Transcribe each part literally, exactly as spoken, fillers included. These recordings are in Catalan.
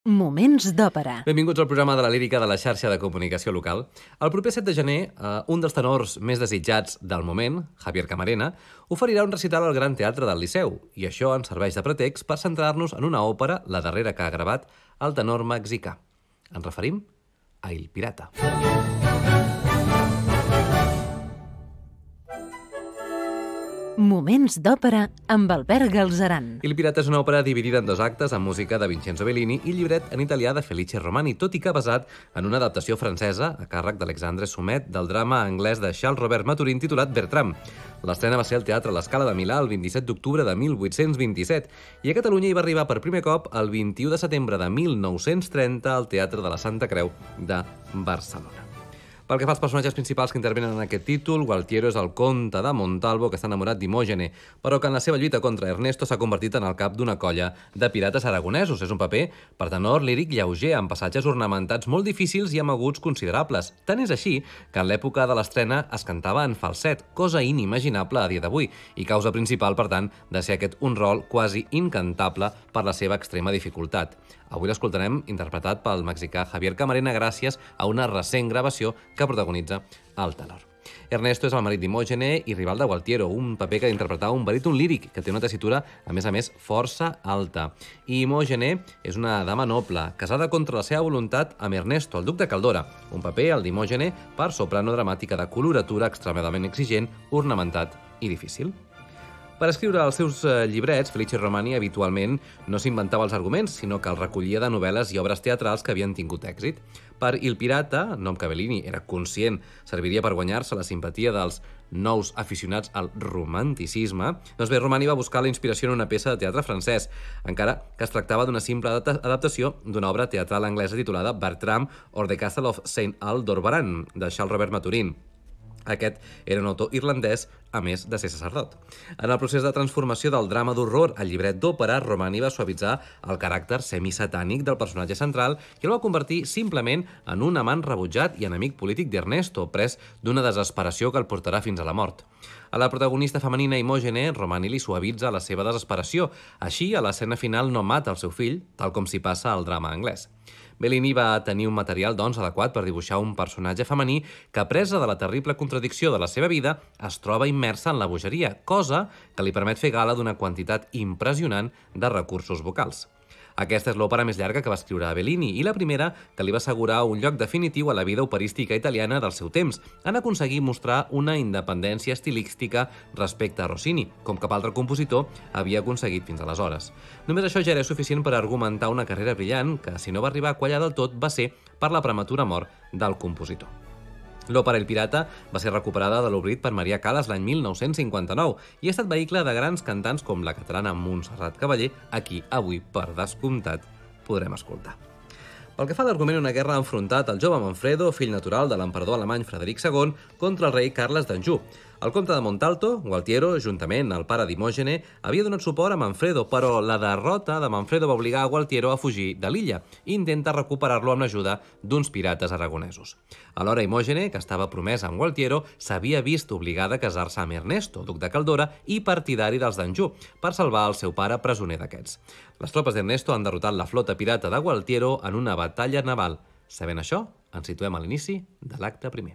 Moments d'òpera. Benvinguts al programa de la lírica de la xarxa de comunicació local. El proper set de gener, eh, un dels tenors més desitjats del moment, Javier Camarena, oferirà un recital al Gran Teatre del Liceu, i això ens serveix de pretext per centrar-nos en una òpera, la darrera que ha gravat, el tenor mexicà. Ens referim a Il Pirata. Moments d'òpera amb Albert Galzeran. Il Pirata és una òpera dividida en dos actes amb música de Vincenzo Bellini i llibret en italià de Felice Romani, tot i que basat en una adaptació francesa a càrrec d'Alexandre Soumet del drama anglès de Charles Robert Maturin titulat Bertram. L'estrena va ser al Teatre La Scala de Milà el vint-i-set d'octubre de mil vuit-cents vint-i-set i a Catalunya hi va arribar per primer cop el vint-i-u de setembre de mil nou-cents trenta al Teatre de la Santa Creu de Barcelona. Pel que fa als personatges principals que intervenen en aquest títol, Gualtiero és el comte de Montalvo que està enamorat d'Imògene, però que en la seva lluita contra Ernesto s'ha convertit en el cap d'una colla de pirates aragonesos. És un paper per tenor líric lleuger, amb passatges ornamentats molt difícils i amb aguts considerables. Tant és així que en l'època de l'estrena es cantava en falset, cosa inimaginable a dia d'avui, i causa principal, per tant, de ser aquest un rol quasi incantable per la seva extrema dificultat. Avui l'escoltarem interpretat pel mexicà Javier Camarena gràcies a una recent gravació que protagonitza el tenor. Ernesto és el marit d'Imògene i rival de Gualtiero, un paper que ha d'interpretar un baríton líric que té una tessitura, a més a més, força alta. I Imògene és una dama noble, casada contra la seva voluntat amb Ernesto, el duc de Caldora, un paper, el d'Imògene, per soprano dramàtica de coloratura extremadament exigent, ornamentat i difícil. Per escriure els seus llibrets, Felice Romani habitualment no s'inventava els arguments, sinó que els recollia de novel·les i obres teatrals que havien tingut èxit. Per Il Pirata, nom que Bellini era conscient serviria per guanyar-se la simpatia dels nous aficionats al romanticisme, doncs bé, Romani va buscar la inspiració en una peça de teatre francès, encara que es tractava d'una simple adaptació d'una obra teatral anglesa titulada Bertram or the Castle of Saint Aldobrand, de Charles Robert Maturin. Aquest era un autor irlandès, a més de ser sacerdot. En el procés de transformació del drama d'horror al llibret d'òpera, Romani va suavitzar el caràcter semisatànic del personatge central i el va convertir simplement en un amant rebutjat i enemic polític d'Ernesto, pres d'una desesperació que el portarà fins a la mort. A la protagonista femenina Imògene, Romani li suavitza la seva desesperació. Així, a l'escena final no mata el seu fill, tal com s'hi passa al drama anglès. Bellini va tenir un material, doncs, adequat per dibuixar un personatge femení que, presa de la terrible contradicció de la seva vida, es troba immersa en la bogeria, cosa que li permet fer gala d'una quantitat impressionant de recursos vocals. Aquesta és l'òpera més llarga que va escriure a Bellini i la primera que li va assegurar un lloc definitiu a la vida operística italiana del seu temps, en aconseguir mostrar una independència estilística respecte a Rossini, com cap altre compositor havia aconseguit fins aleshores. Només això ja era suficient per argumentar una carrera brillant que, si no va arribar a quallar del tot, va ser per la prematura mort del compositor. L'òpera Il Pirata va ser recuperada de l'oblit per Maria Callas l'any mil nou-cents cinquanta-nou i ha estat vehicle de grans cantants com la catalana Montserrat Cavaller, a qui avui, per descomptat, podrem escoltar. Pel que fa a l'argument, una guerra ha enfrontat el jove Manfredo, fill natural de l'emperador alemany Frederic segon, contra el rei Carles d'Anjou. El comte de Montalto, Gualtiero, juntament el pare d'Imògene, havia donat suport a Manfredo, però la derrota de Manfredo va obligar a Gualtiero a fugir de l'illa i intenta recuperar-lo amb l'ajuda d'uns pirates aragonesos. Alhora, Imògene, que estava promesa amb Gualtiero, s'havia vist obligada a casar-se amb Ernesto, duc de Caldora i partidari dels d'Anjou, per salvar el seu pare presoner d'aquests. Les tropes d'Ernesto han derrotat la flota pirata de Gualtiero en una batalla naval. Sabent això, ens situem a l'inici de l'acte primer.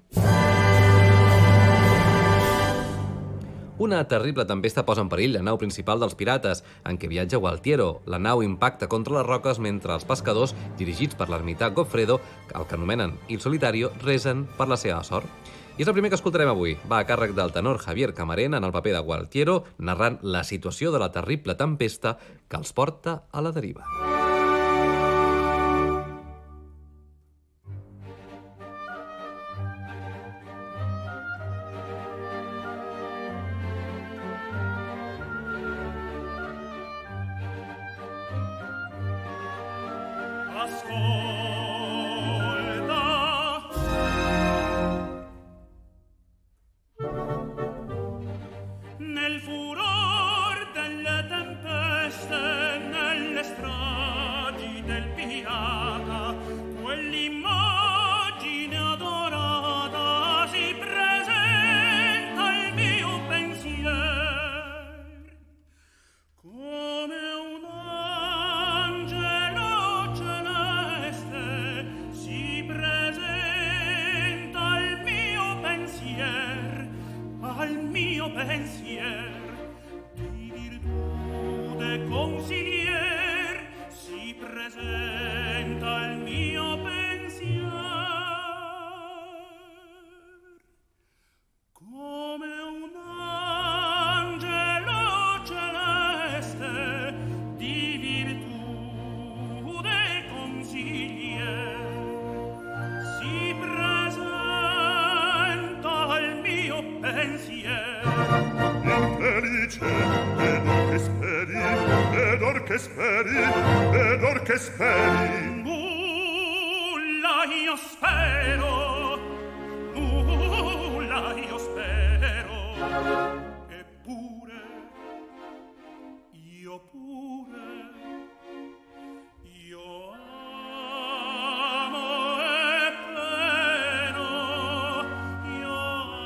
Una terrible tempesta posa en perill la nau principal dels pirates, en què viatja Gualtiero. La nau impacta contra les roques mentre els pescadors, dirigits per l'ermità Goffredo, el que anomenen Il Solitario, resen per la seva sort. I és el primer que escoltarem avui. Va a càrrec del tenor Javier Camarena en el paper de Gualtiero, narrant la situació de la terrible tempesta que els porta a la deriva. Nel furor delle tempeste, nelle stragi del pirata, quell'immagine adorata si presenta al mio pensier come un angelo celeste che speri, ed or che speri. Nulla io spero, nulla io spero. Eppure, io pure, io amo e pleno, io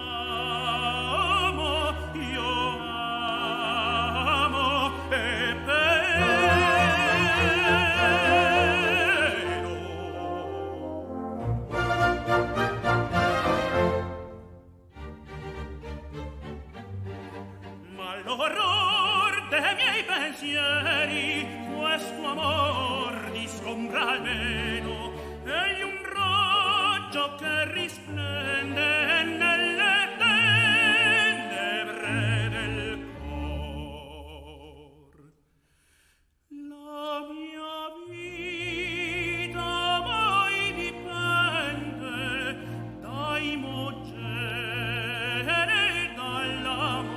amo, io amo e l'orror dei miei pensieri questo amor discombra almeno egli un raggio che risplende nelle tenebre del cor. La mia vita mai dipende dai mogere dall'amor.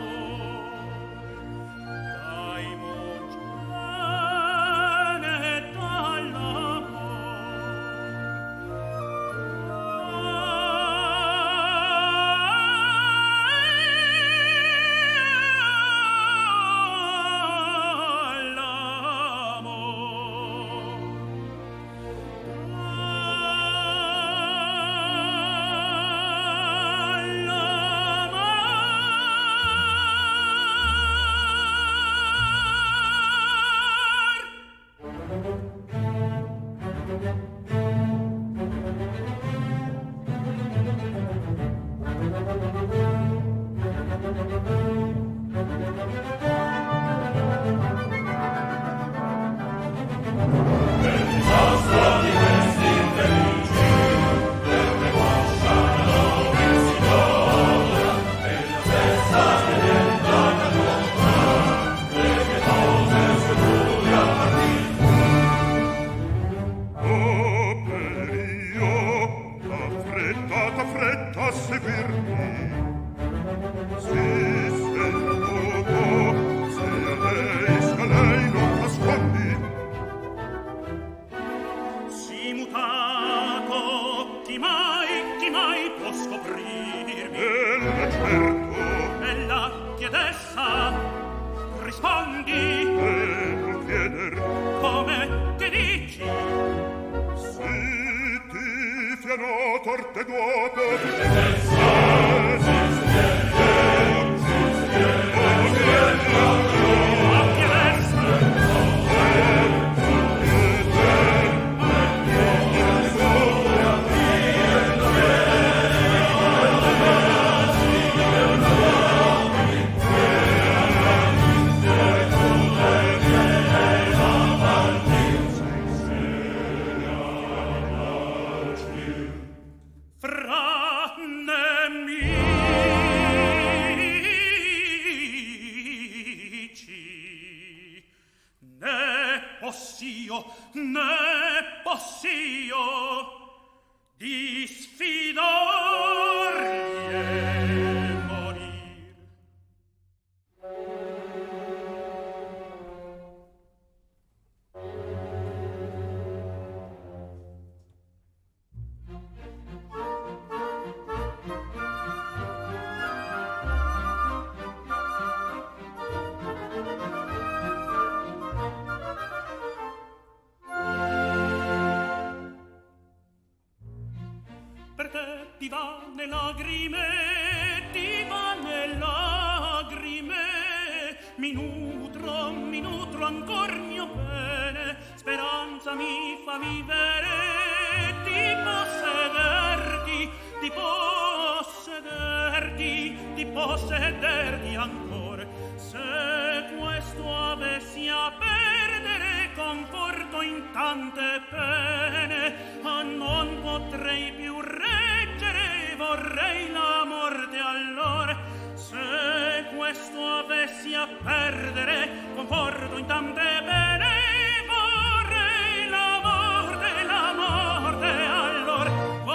Se questo avessi a perdere conforto in tante pene, ah, non potrei più reggere, vorrei la morte allora. Se questo avessi a perdere, conforto in tante pene, vorrei la morte, la morte allora.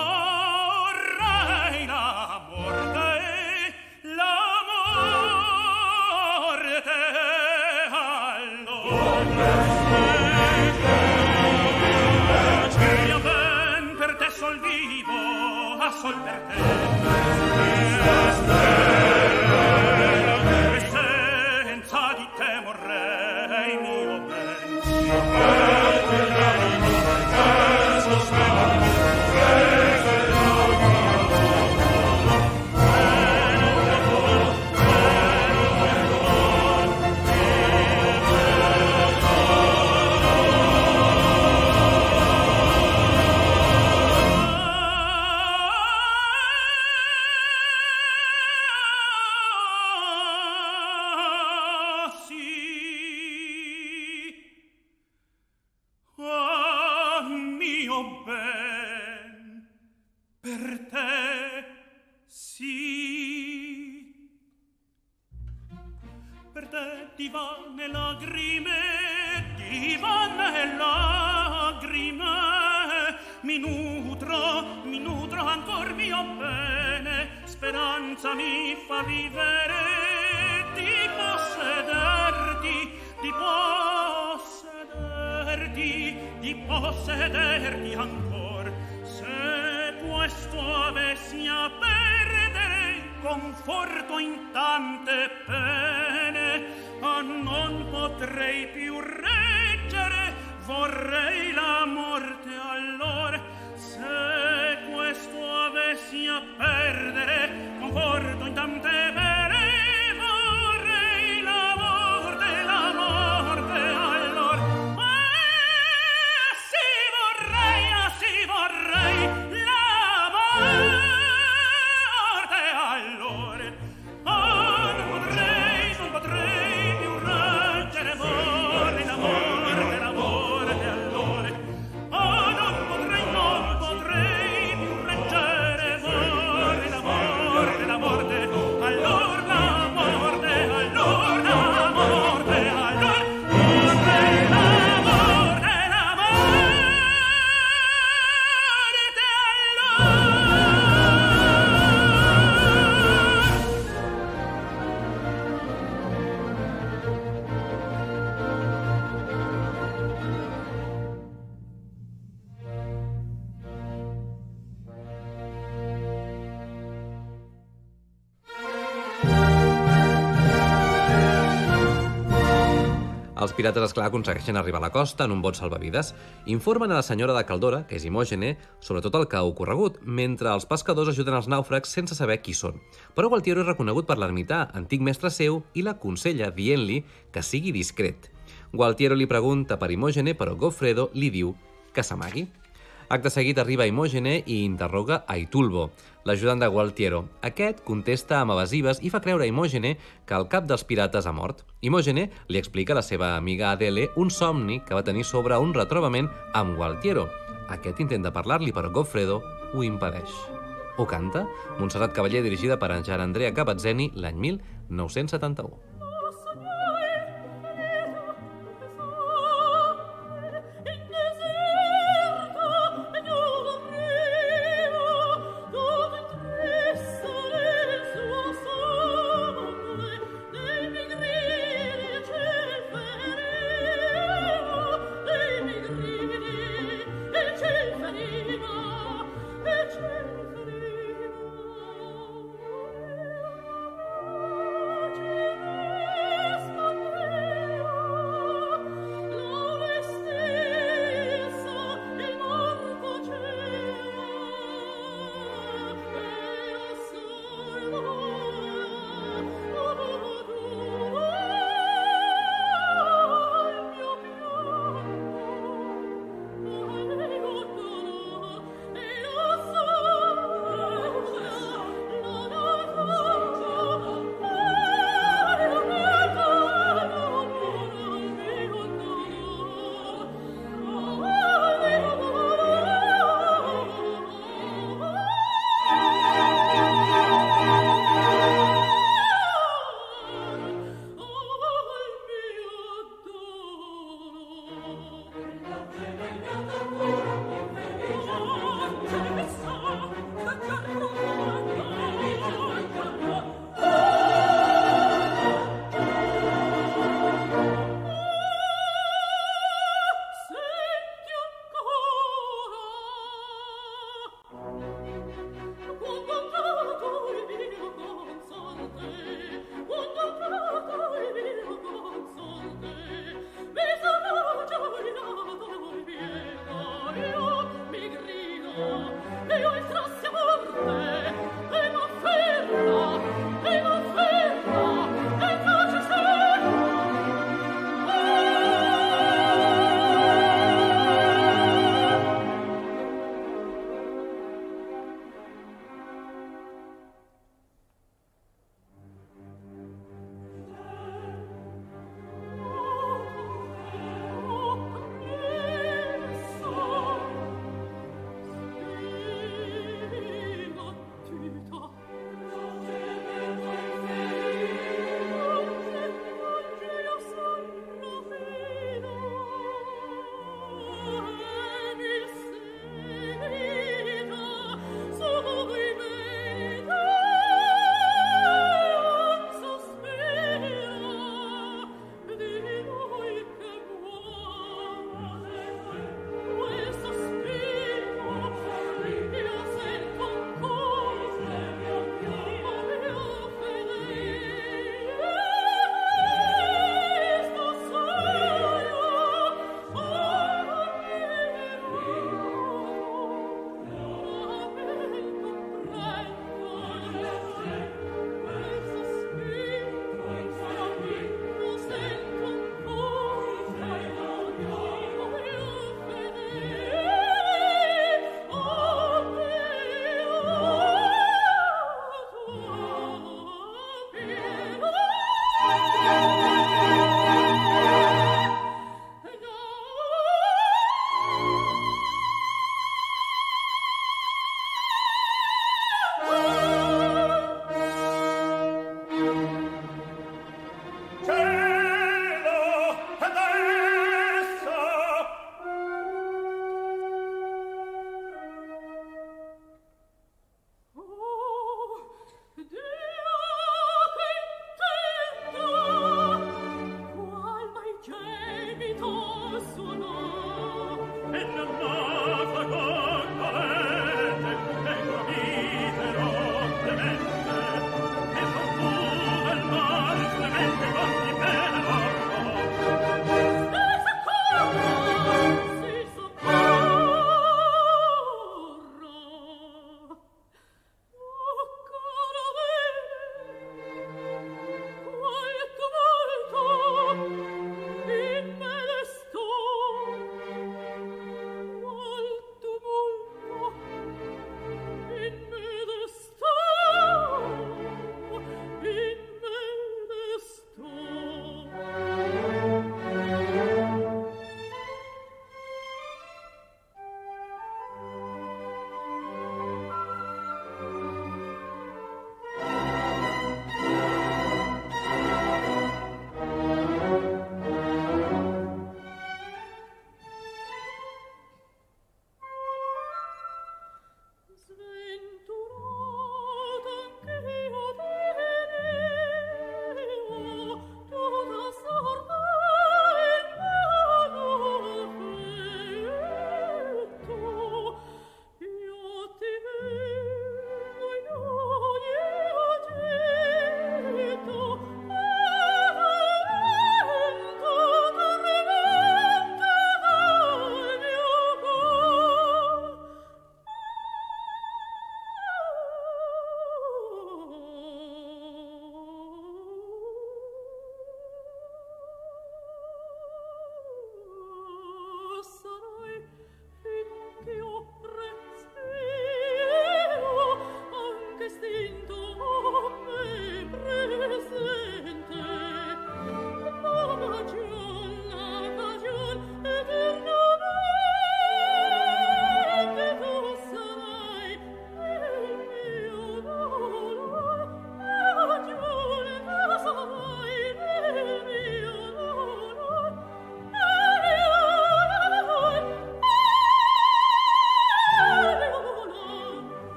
Vorrei la morte, la morte allora. Io ben per te sol vivo, a sol per te. E senza di te morrei, mio ben. Divane lagrime, divane lagrime, mi nutro, mi nutro ancor mio bene, speranza mi fa vivere, di possederti, di possederti, di possederti ancor. Se questo avessi a perdere, conforto in tante pene, ah, non potrei più reggere, vorrei la morte allora. Se questo avessi a perdere, conforto in tante pene, vorrei la morte, la morte allora. Ah, sì vorrei, ah, sì vorrei la morte allora. Ah, non potrei, non potrei più reggere, vorrei la morte, la morte allora. Ah, non potrei, non potrei più reggere, vorrei la morte, la morte allora, la morte allora, la morte allora. Vorrei la morte, la morte Els pirates, esclar, aconsegueixen arribar a la costa en un bot salvavides. Informen a la senyora de Caldora, que és Imògene, sobre tot el que ha ocorregut, mentre els pescadors ajuden els nàufrags sense saber qui són. Però Gualtiero és reconegut per l'ermità, antic mestre seu, i l'aconsella dient-li que sigui discret. Gualtiero li pregunta per Imògene, però Goffredo li diu que s'amagui. Acte seguit arriba Imògene i interroga a Itulbo, l'ajudant de Gualtiero. Aquest contesta amb evasives i fa creure a Imògene que el cap dels pirates ha mort. Imògene li explica a la seva amiga Adele un somni que va tenir sobre un retrobament amb Gualtiero. Aquest intenta parlar-li, però Goffredo ho impedeix. Ho canta Montserrat Cavaller, dirigida per en Gianandrea Cavazzeni l'any mil nou-cents setanta-u. Thank you. Thank you.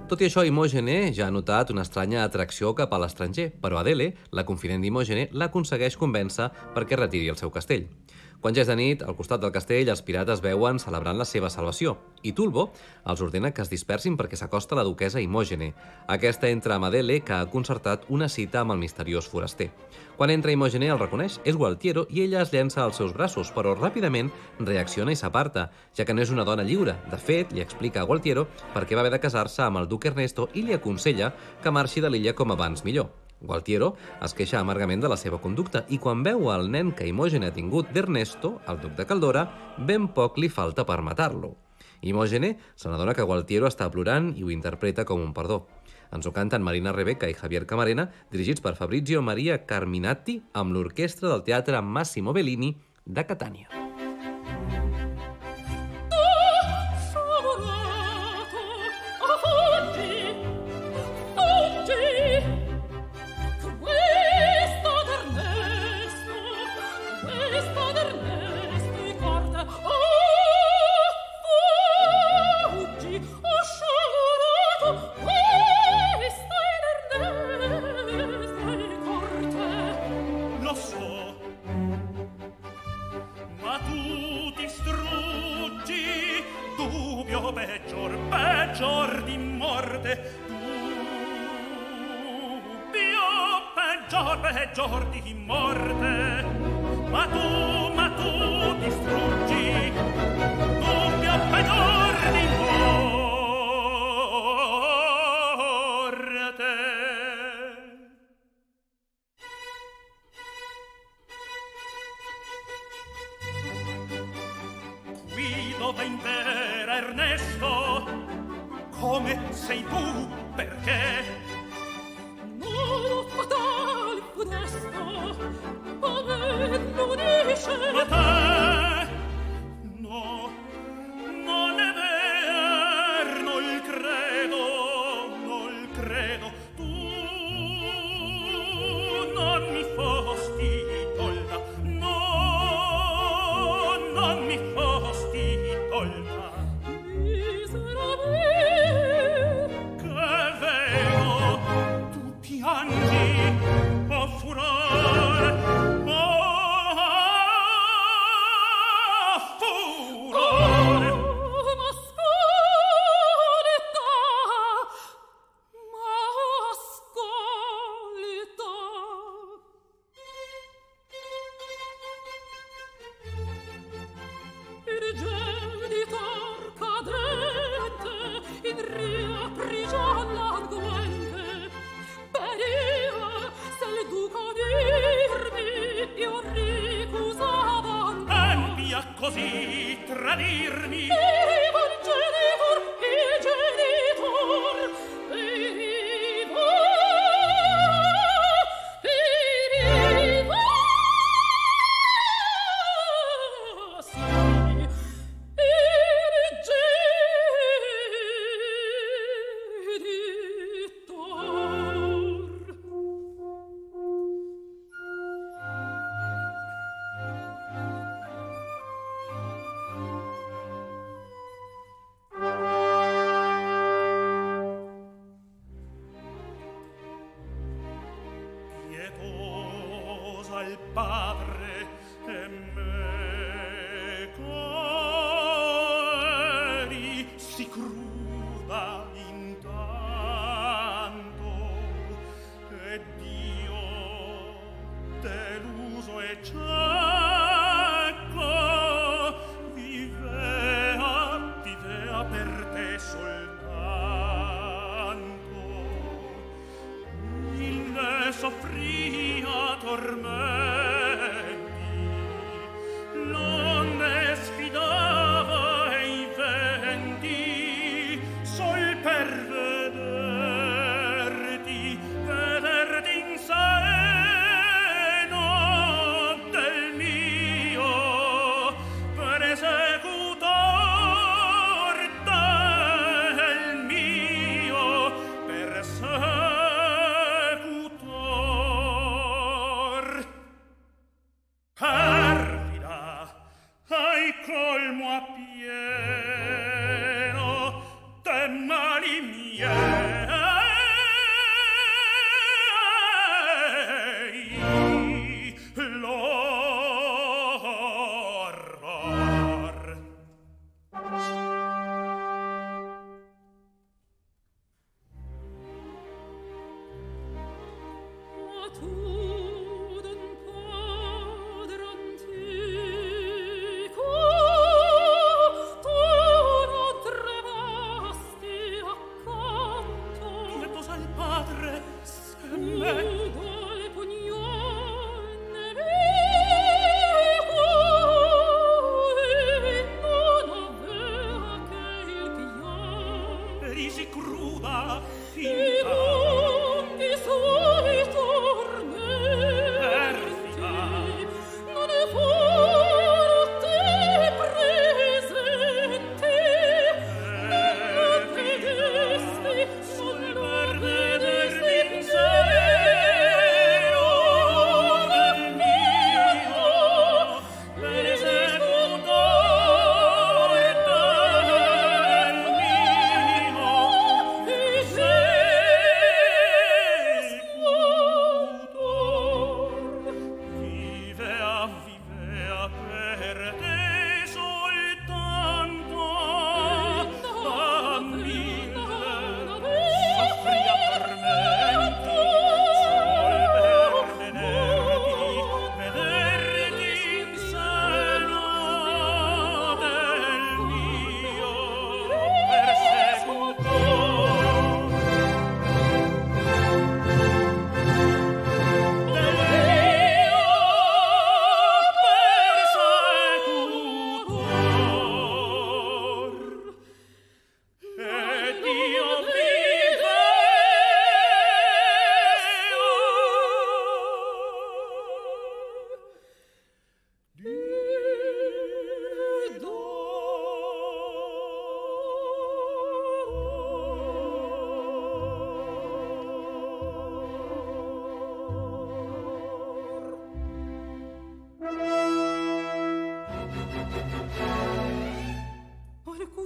Tot i això, Imògene ja ha notat una estranya atracció cap a l'estranger, però Adele, la confident d'Imògene, l'aconsegueix convèncer perquè retiri el seu castell. Quan ja és de nit, al costat del castell, els pirates veuen celebrant la seva salvació, i Tulbo els ordena que es dispersin perquè s'acosta la duquesa Imògene. Aquesta entra amb Adele, que ha concertat una cita amb el misteriós foraster. Quan entra Imògene el reconeix, és Gualtiero, i ella es llença als seus braços, però ràpidament reacciona i s'aparta, ja que no és una dona lliure. De fet, li explica a Gualtiero per què va haver de casar-se amb el duc Ernesto i li aconsella que marxi de l'illa com abans millor. Gualtiero es queixa amargament de la seva conducta i quan veu el nen que Imògene ha tingut d'Ernesto, el duc de Caldora, ben poc li falta per matar-lo. Imògene se n'adona que Gualtiero està plorant i ho interpreta com un perdó. Ens ho canten Marina Rebecca i Javier Camarena, dirigits per Fabrizio Maria Carminati, amb l'orquestra del Teatre Massimo Bellini de Catània. Peggior, peggior di morte, dubbio, peggior, peggior di morte, ma tu, ma tu distruggi, dubbio, peggior di morte. Qui dove impera Ernesto, come sei tu, perché? No, fatal funesto, come l'unisce. Ma te, no, non è ver, non credo, non credo, tu non mi fosti tolta, no, non mi fosti tolta. Così tradirmi il genitor, il genitor, veniva, veniva, sì, il genitor. Al padre e me cori si cruda intanto e Dio deluso e cieco vivea, vivea per te soltanto, il ne soffria tormenti, l'onde sfidava e i venti sol per vederti, vederti in seno del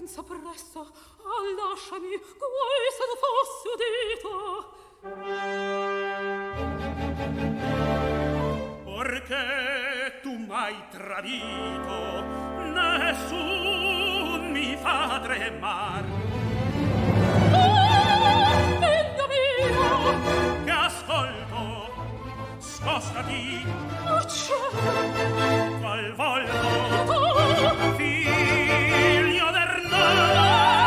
senza pressa, ah, lasciami, guai se non fossi udita. Perché tu m'hai tradito, nessun mi fa tremar. Ah, figlio mio! Che ascolto, scostati, Oh, cielo! qual volto, Oh, figlio d'Ernesto.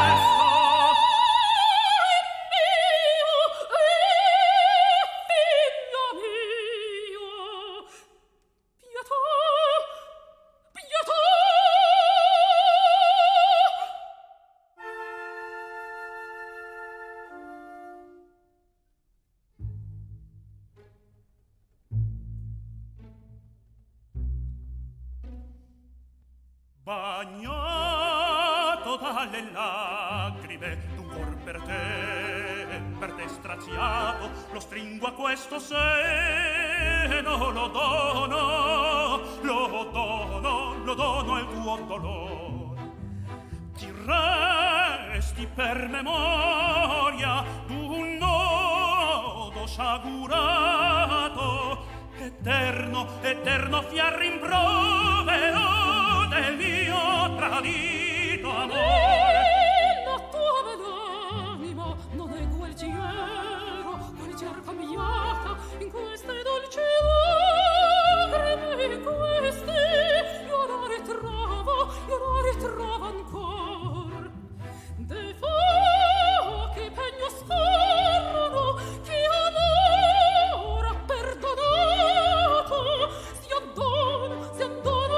Bagnato dalle lacrime d'un cor per te, per te straziato, lo stringo a questo seno, lo dono, lo dono, lo dono al tuo dolore. Ti resti per memoria d'un nodo sciagurato, eterno, eterno fiar rimprovero del mio tradito amore. la tua bell'anima non è gualgiero, gualgier cambiata in queste dolci lacrime, in queste io la ritrovo, io la ritrovo ancor. Dei fuochi pegno scorrono, chi amor ha perdonato, si addona, si addona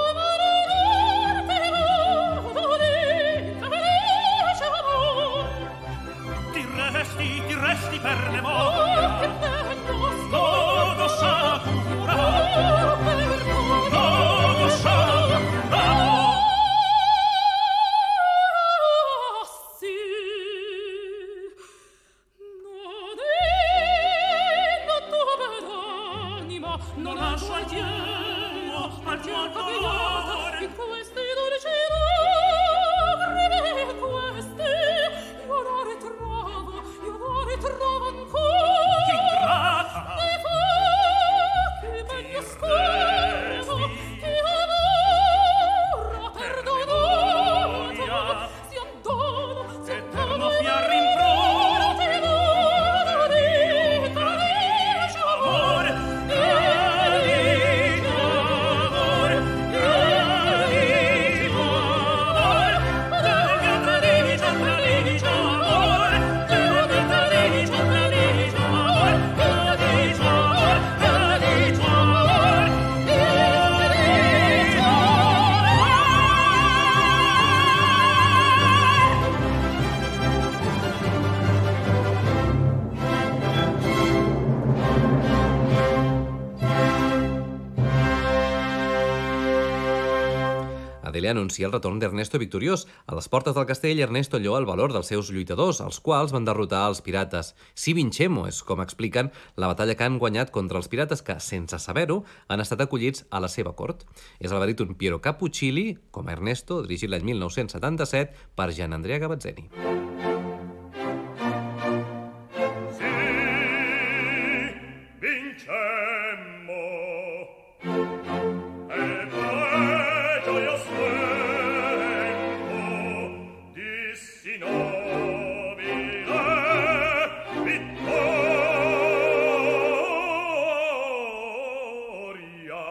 Ti resti per memoria, nodo sciagurato, nodo sciagurato. Ah, sì, non è la tua bell'anima, non ha gualtiero, al tuo cambiata in questi dolci lacrime, in questi io la ritrovo, io la ritrovo ancora. Ingrata, Dei fuochi meglio scorrono, chi amor ha perdonato, si addona, si eterno addona fiar rimprovero ti dono di tradicio amore, tradicio amore, tradito amore, del mio tradito, tradito amore, del mio tradito, tradito amore, tradito amore, tradito amore, tradito Adele anuncia el retorn d'Ernesto victoriós. A les portes del castell, Ernesto lloa el valor dels seus lluitadors, els quals van derrotar els pirates. Si vincemo és, com expliquen, la batalla que han guanyat contra els pirates que, sense saber-ho, han estat acollits a la seva cort. És el baríton Piero Cappuccilli, com a Ernesto, dirigit l'any mil nou-cents setanta-set per Gian Andrea Gavazzeni. Sì, vincemmo. E poi gioiosamente dissi nobile vittoria.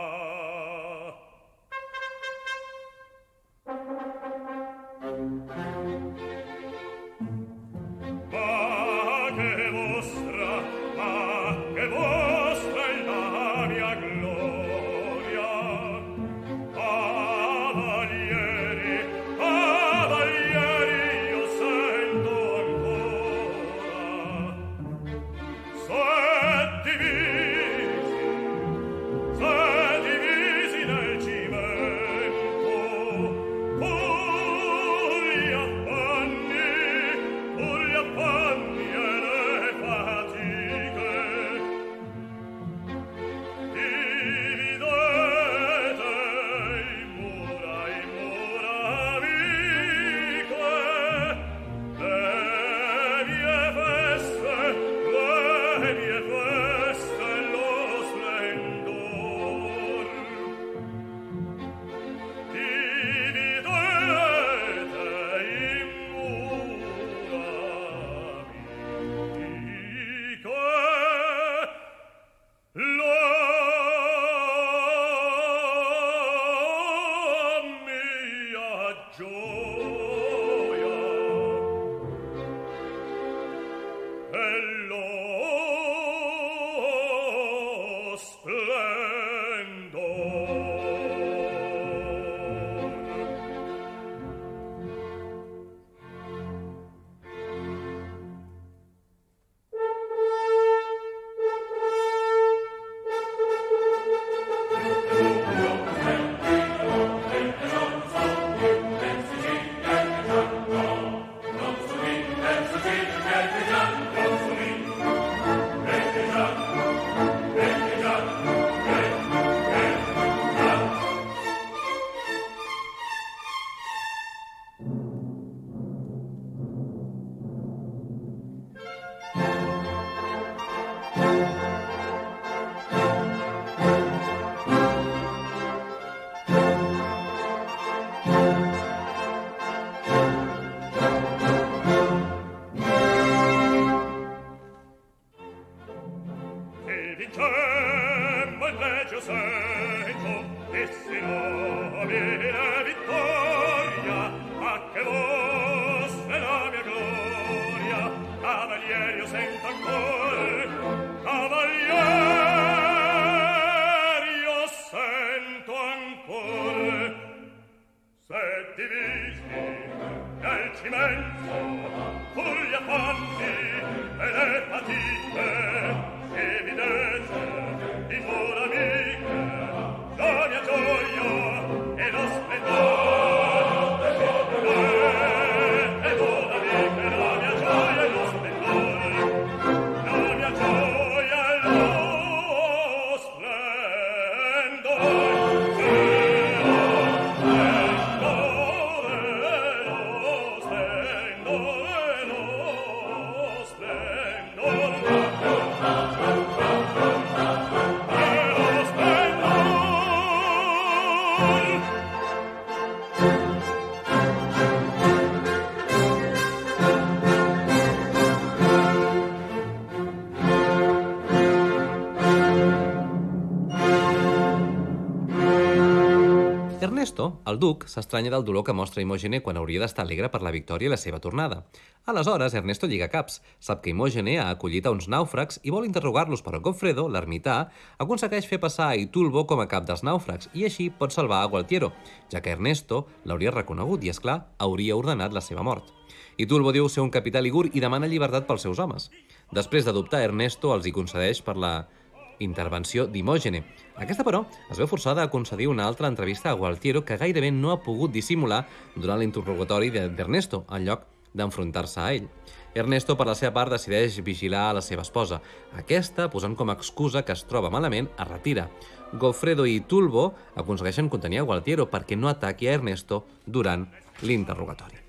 Ernesto, el duc, s'estranya del dolor que mostra Imògene quan hauria d'estar alegre per la victòria i la seva tornada. Aleshores, Ernesto lliga caps, sap que Imògene ha acollit a uns nàufrags i vol interrogar-los, però Goffredo, l'ermità, aconsegueix fer passar a Itulbo com a cap dels nàufrags i així pot salvar a Gualtiero, ja que Ernesto l'hauria reconegut i, és clar, hauria ordenat la seva mort. Itulbo diu ser un capità ligur i demana llibertat pels seus homes. Després d'adoptar, Ernesto els hi concedeix per la intervenció d'Imògene. Aquesta, però, es veu forçada a concedir una altra entrevista a Gualtiero que gairebé no ha pogut dissimular durant l'interrogatori d'Ernesto, en lloc d'enfrontar-se a ell. Ernesto, per la seva part, decideix vigilar a la seva esposa. Aquesta, posant com a excusa que es troba malament, es retira. Goffredo i Itulbo aconsegueixen contenir a Gualtiero perquè no ataqui a Ernesto durant l'interrogatori.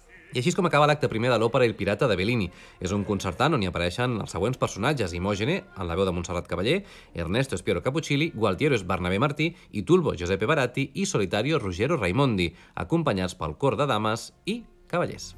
I així és com acaba l'acte primer de l'òpera El pirata de Bellini. És un concertant on hi apareixen els següents personatges: Imògene, en la veu de Montserrat Caballé, Ernesto és Piero Capuccilli, Gualtiero és Bernabé Martí, Itulbo Giuseppe Baratti i Solitario Ruggero Raimondi, acompanyats pel cor de dames i cavallers.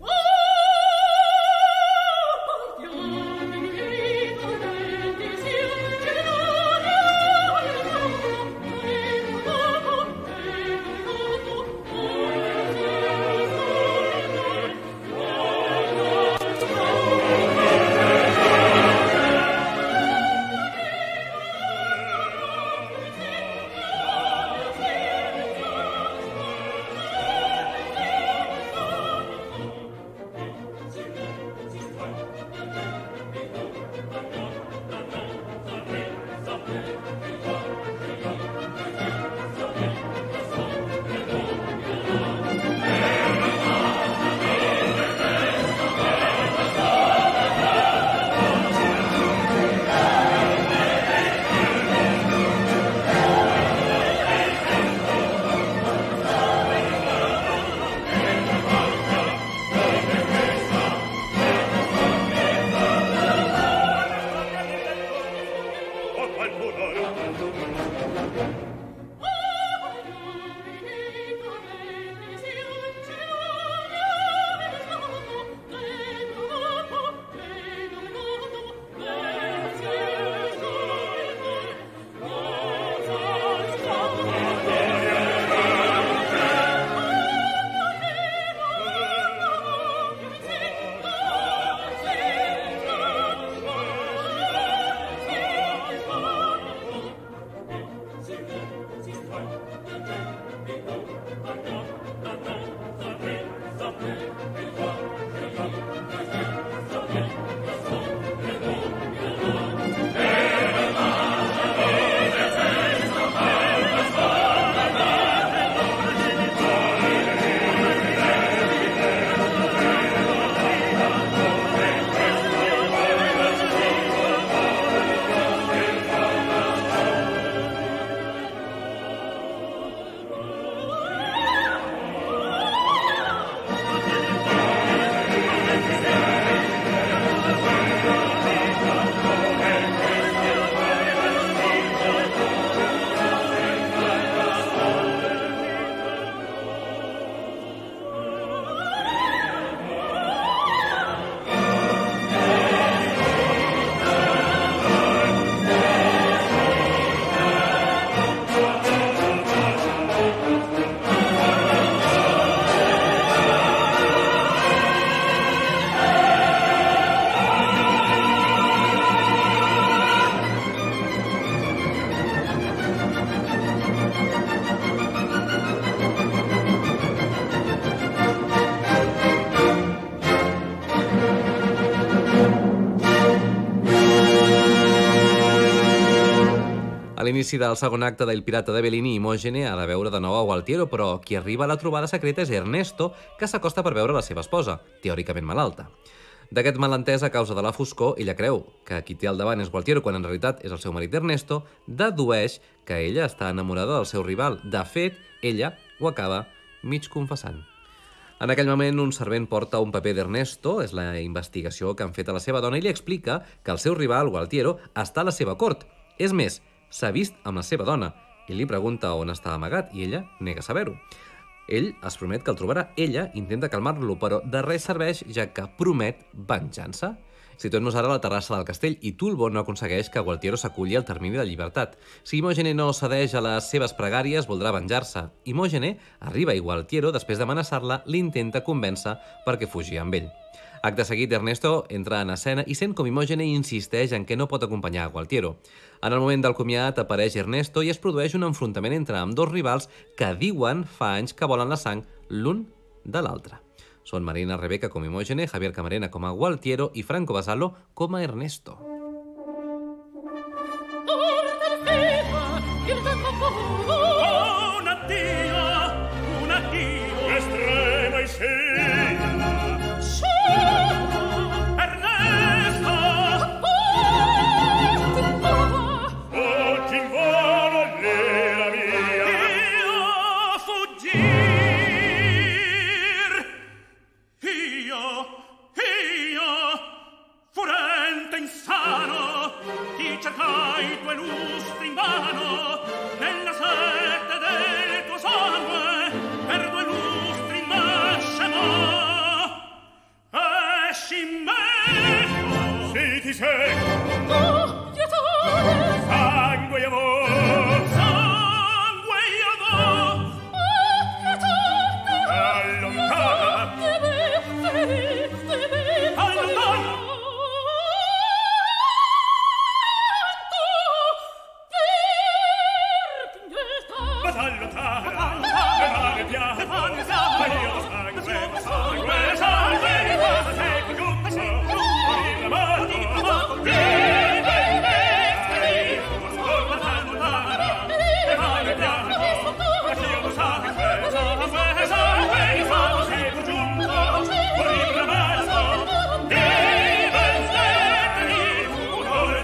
l'inici del segon acte d'Il pirata de Bellini, Imògene ha de veure de nou a Gualtiero, però qui arriba a la trobada secreta és Ernesto, que s'acosta per veure la seva esposa, teòricament malalta. D'aquest malentès a causa de la foscor, ella creu que qui té al davant és Gualtiero quan en realitat és el seu marit Ernesto, dedueix que ella està enamorada del seu rival. De fet, ella ho acaba mig confessant. En aquell moment, un servent porta un paper d'Ernesto, és la investigació que han fet a la seva dona, i li explica que el seu rival, Gualtiero, està a la seva cort. És més, s'ha vist amb la seva dona. Ell li pregunta on està amagat i ella nega saber-ho. Ell es promet que el trobarà. Ella intenta calmar-lo, però de res serveix, ja que promet venjança. Situem-nos ara a la terrassa del castell i Tulbo no aconsegueix que Gualtiero s'aculli al termini de llibertat. Si Imògene no cedeix a les seves pregàries, voldrà venjar-se. Imògene arriba i Gualtiero, després d'amenaçar-la, l'intenta convèncer perquè fugi amb ell. Acte seguit, Ernesto entra en escena i sent com Imògene insisteix en que no pot acompanyar a Gualtiero. En el moment del comiat apareix Ernesto i es produeix un enfrontament entre ambdós rivals que diuen fa anys que volen la sang l'un de l'altre. Són Marina Rebecca com Imògene, Javier Camarena com a Gualtiero i Franco Basalo com a Ernesto. Un addio, un addio Estrema y sí. Ernesto Oggi in volo l'era mia. io fuggir io io furente insano ti cercai due lustri invano nella sete del tuo sangue per due lustri nascemo esci in me Sì, ti sei. Oh, pietà! Sangue e amor. sangue io do Oh, pietà! Allontana. De me, de me, de me, Allontana. Ma t'allontana. Le mani piate. Ma io sangue, sangue, sangue. Ma sei più giusto. Morire amato. Vive, vive. Ma t'allontana. Le mani piate. Ma io sangue, sangue, sangue. Ma sei più giusto. Morire amato. Vive, vive.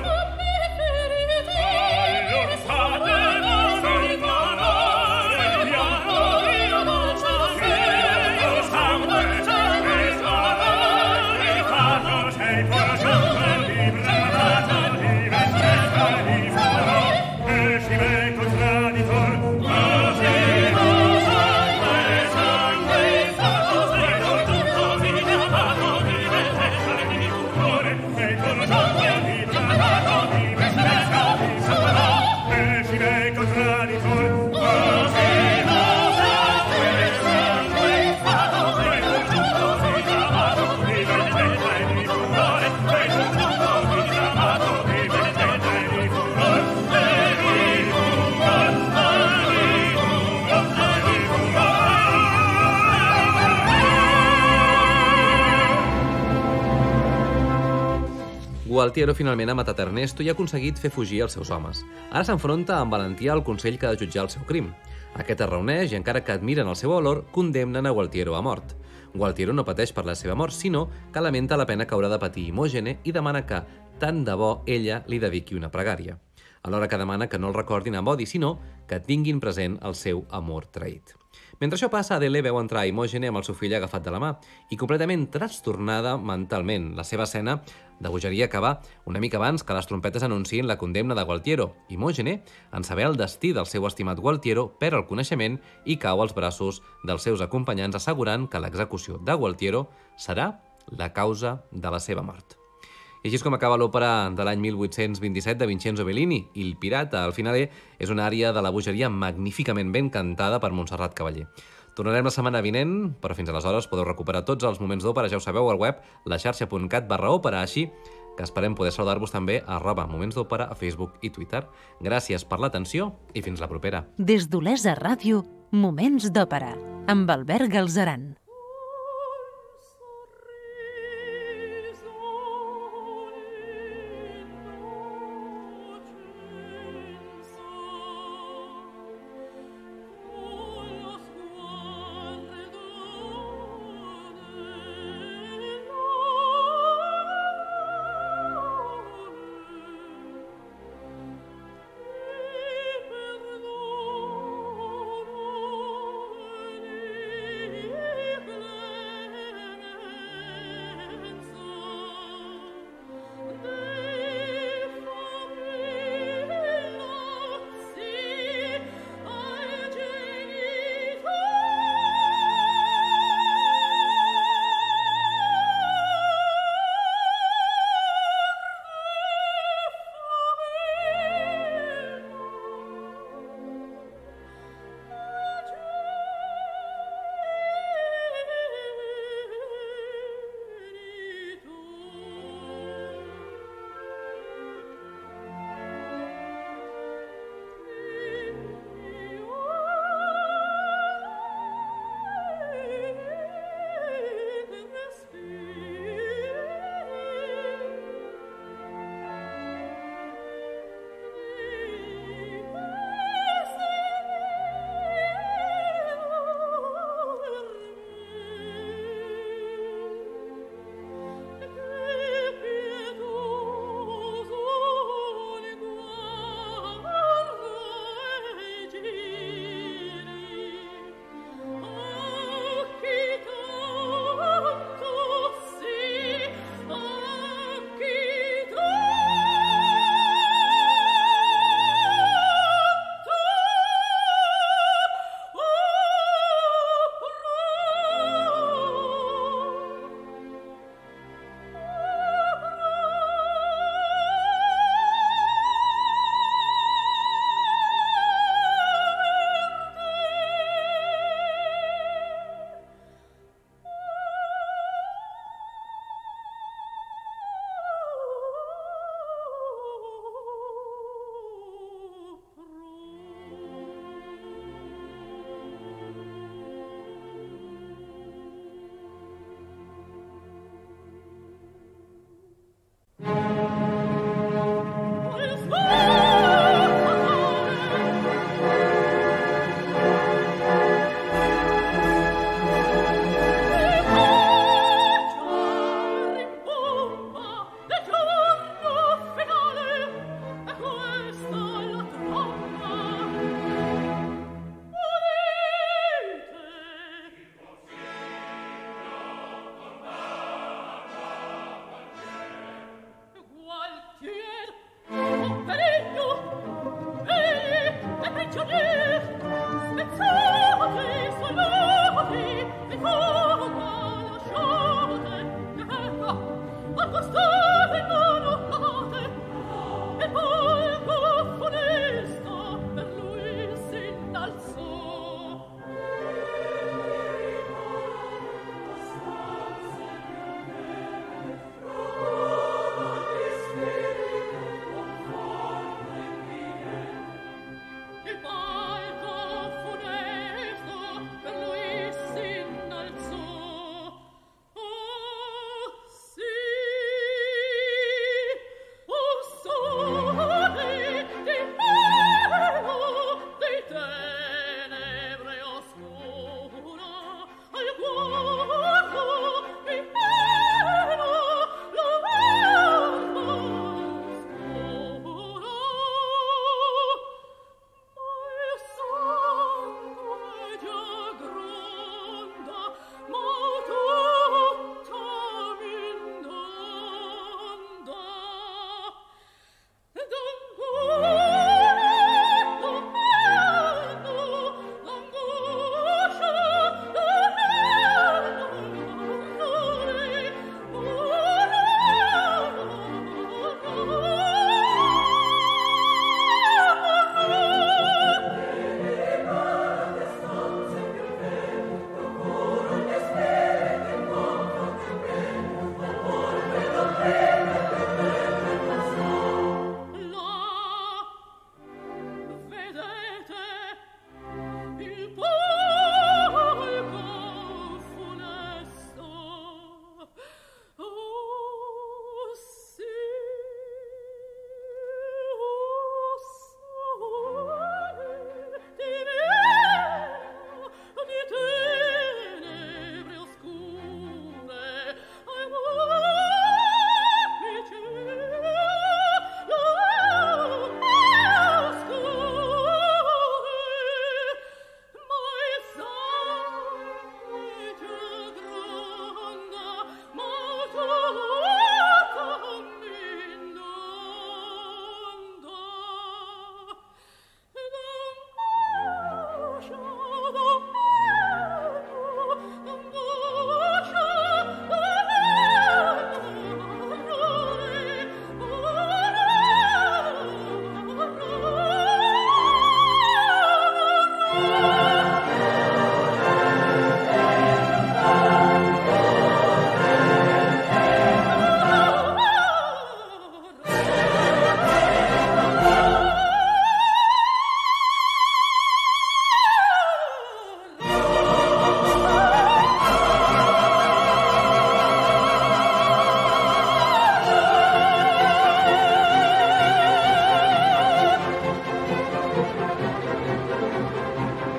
Gualtiero finalment ha matat Ernesto i ha aconseguit fer fugir els seus homes. Ara s'enfronta amb valentia al Consell que ha de jutjar el seu crim. Aquest es reuneix i, encara que admiren el seu valor, condemnen a Gualtiero a mort. Gualtiero no pateix per la seva mort, sinó que lamenta la pena que haurà de patir Imògene i demana que, tant de bo, ella li dediqui una pregària. Alhora que demana que no el recordin amb odi, sinó que tinguin present el seu amor traït. Mentre això passa, Adele veu entrar Imògene amb el seu fill agafat de la mà i completament trastornada mentalment. La seva escena de bogeria acaba una mica abans que les trompetes anunciïn la condemna de Gualtiero. Imògene, en saber el destí del seu estimat Gualtiero, perd el coneixement i cau als braços dels seus acompanyants, assegurant que l'execució de Gualtiero serà la causa de la seva mort. I així és com acaba l'òpera de l'any mil vuit-cents vint-i-set de Vincenzo Bellini, Il pirata. Al final és una ària de la bogeria magníficament ben cantada per Montserrat Cavaller. Tornarem la setmana vinent, però fins aleshores podeu recuperar tots els moments d'òpera, ja ho sabeu, al web laxarxa punt cat barra òpera, així que esperem poder saludar-vos també a arroba Moments d'Òpera a Facebook i Twitter. Gràcies per l'atenció i fins la propera. Des d'Olesa Ràdio, Moments d'Òpera, amb Albert Galzeran. sorriso in nocenza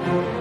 Thank you.